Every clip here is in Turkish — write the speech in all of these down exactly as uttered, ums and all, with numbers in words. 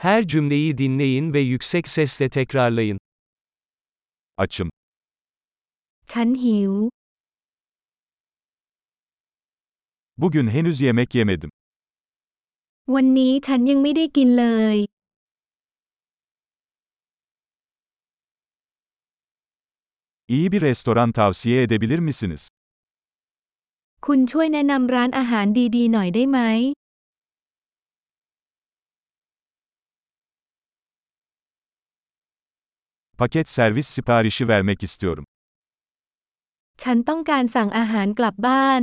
Her cümleyi dinleyin ve yüksek sesle tekrarlayın. Açım. ฉันหิว Bugün henüz yemek yemedim. วันนี้ฉันยังไม่ได้กินเลย İyi bir restoran tavsiye edebilir misiniz? คุณช่วยแนะนำร้านอาหารดีๆหน่อยได้ไหม Paket servis siparişi vermek istiyorum. ฉันต้องการสั่งอาหารกลับบ้าน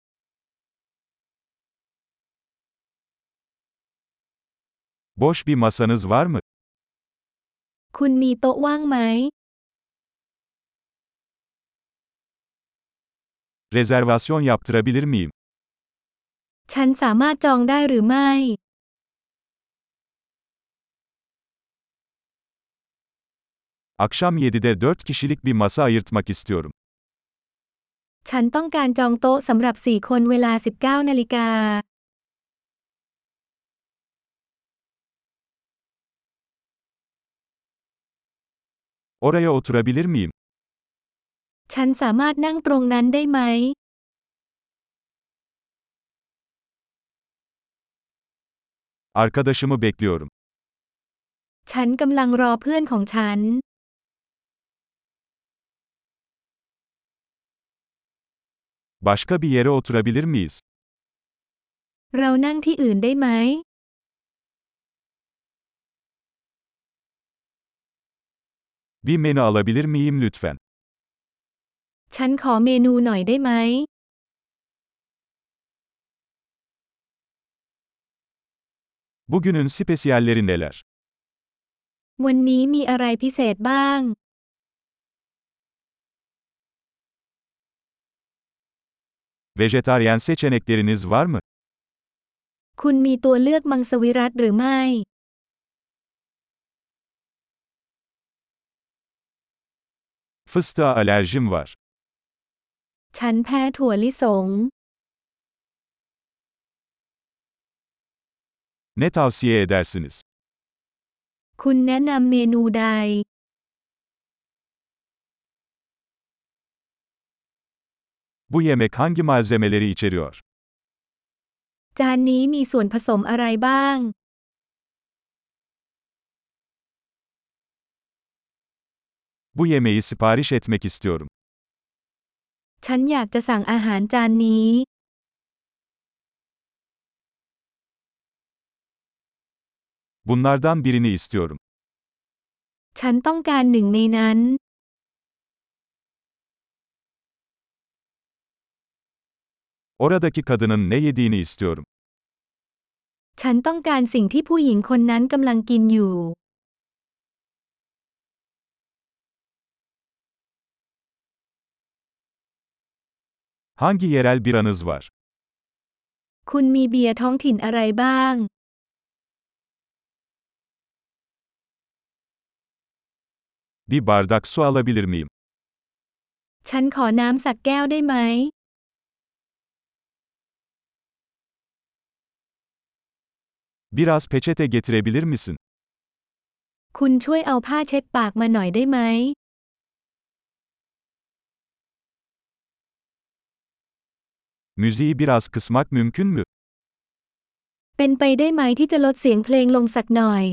Boş bir masanız var mı? คุณมีโต๊ะว่างไหม Rezervasyon yaptırabilir miyim? ฉันสามารถจองได้หรือไม่ Akşam yedide dört kişilik bir masa ayırtmak istiyorum. ฉันต้องการจองโต๊ะสำหรับสี่คนเวลา สิบเก้า นาฬิกา Oraya oturabilir miyim? ฉันสามารถนั่งตรงนั้นได้ไหม Arkadaşımı bekliyorum. ฉันกำลังรอเพื่อนของฉัน Başka bir yere oturabilir miyiz? เรานั่งที่อื่นได้ไหม Bir menü alabilir miyim lütfen? ฉันขอเมนูหน่อยได้ไหม Bugünün spesiyalleri neler? วันนี้มีอะไรพิเศษบ้าง Vejetaryen seçenekleriniz var mı? คุณมีตัวเลือกมังสวิรัติหรือไม่ Fıstığa alerjim var. ฉันแพ้ถั่วลิสง Ne tavsiye edersiniz? คุณแนะนำเมนูใด Bu yemek hangi malzemeleri içeriyor? จานนี้มีส่วนผสมอะไรบ้าง Bu yemeği sipariş etmek istiyorum. ฉันอยากจะสั่งอาหารจานนี้ Bunlardan birini istiyorum. ฉันต้องการหนึ่งในนั้น Oradaki kadının ne yediğini istiyorum. ฉันต้องการสิ่งที่ผู้หญิงคนนั้นกำลังกินอยู่ Hangi yerel biranız var? คุณมีเบียร์ท้องถิ่นอะไรบ้าง Bir bardak su alabilir miyim? ฉันขอน้ำสักแก้วได้ไหม Biraz peçete getirebilir misin? คุณช่วยเอาผ้าเช็ดปากมาหน่อยได้ไหม Müziği biraz kısmak mümkün mü? เป็นไปได้ไหมที่จะลดเสียงเพลงลงสักหน่อย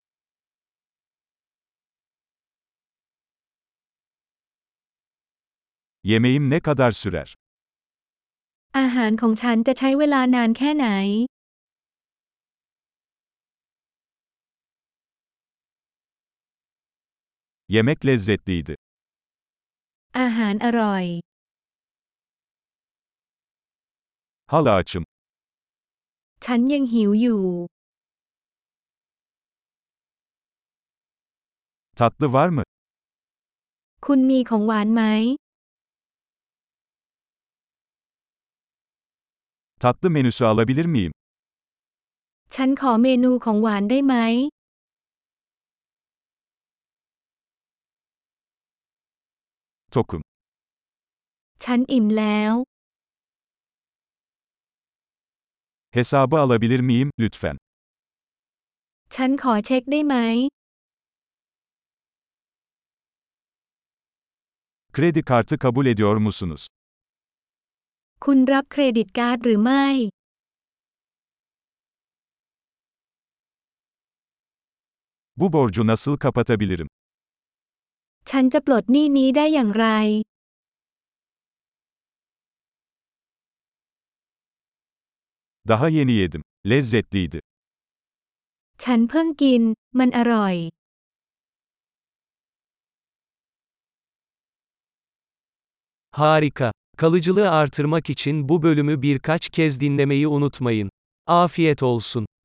Yemeğim ne kadar sürer? อาหารของฉันจะใช้เวลานานแค่ไหน Yemek lezzetliydi. อาหารอร่อย Hala açım. ฉันยังหิวอยู่ Tatlı var mı? คุณมีของหวานไหม Tatlı menüsü alabilir miyim? ฉันขอเมนูของหวานได้ไหม Tokum. ฉันอิ่มแล้ว Hesabı alabilir miyim, lütfen? ฉันขอเช็คได้ไหม Kredi kartı kabul ediyor musunuz? คุณรับเครดิตการ์ดหรือไม่ Bu borcu nasıl kapatabilirim? ฉันจะปลดหนี้นี้ได้อย่างไร Daha yeni yedim. Lezzetliydi. ฉันเพิ่งกิน มันอร่อย Harika. Kalıcılığı artırmak için bu bölümü birkaç kez dinlemeyi unutmayın. Afiyet olsun.